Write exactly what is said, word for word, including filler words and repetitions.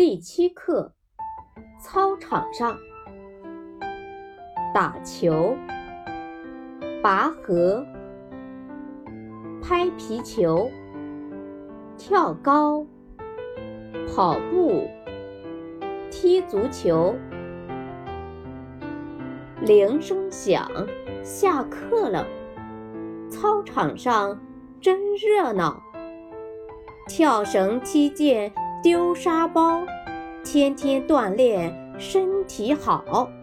第七课，操场上打球、拔河、拍皮球、跳高、跑步、踢足球。铃声响，下课了。操场上真热闹，跳绳、踢毽、丢沙包，天天锻炼身体好。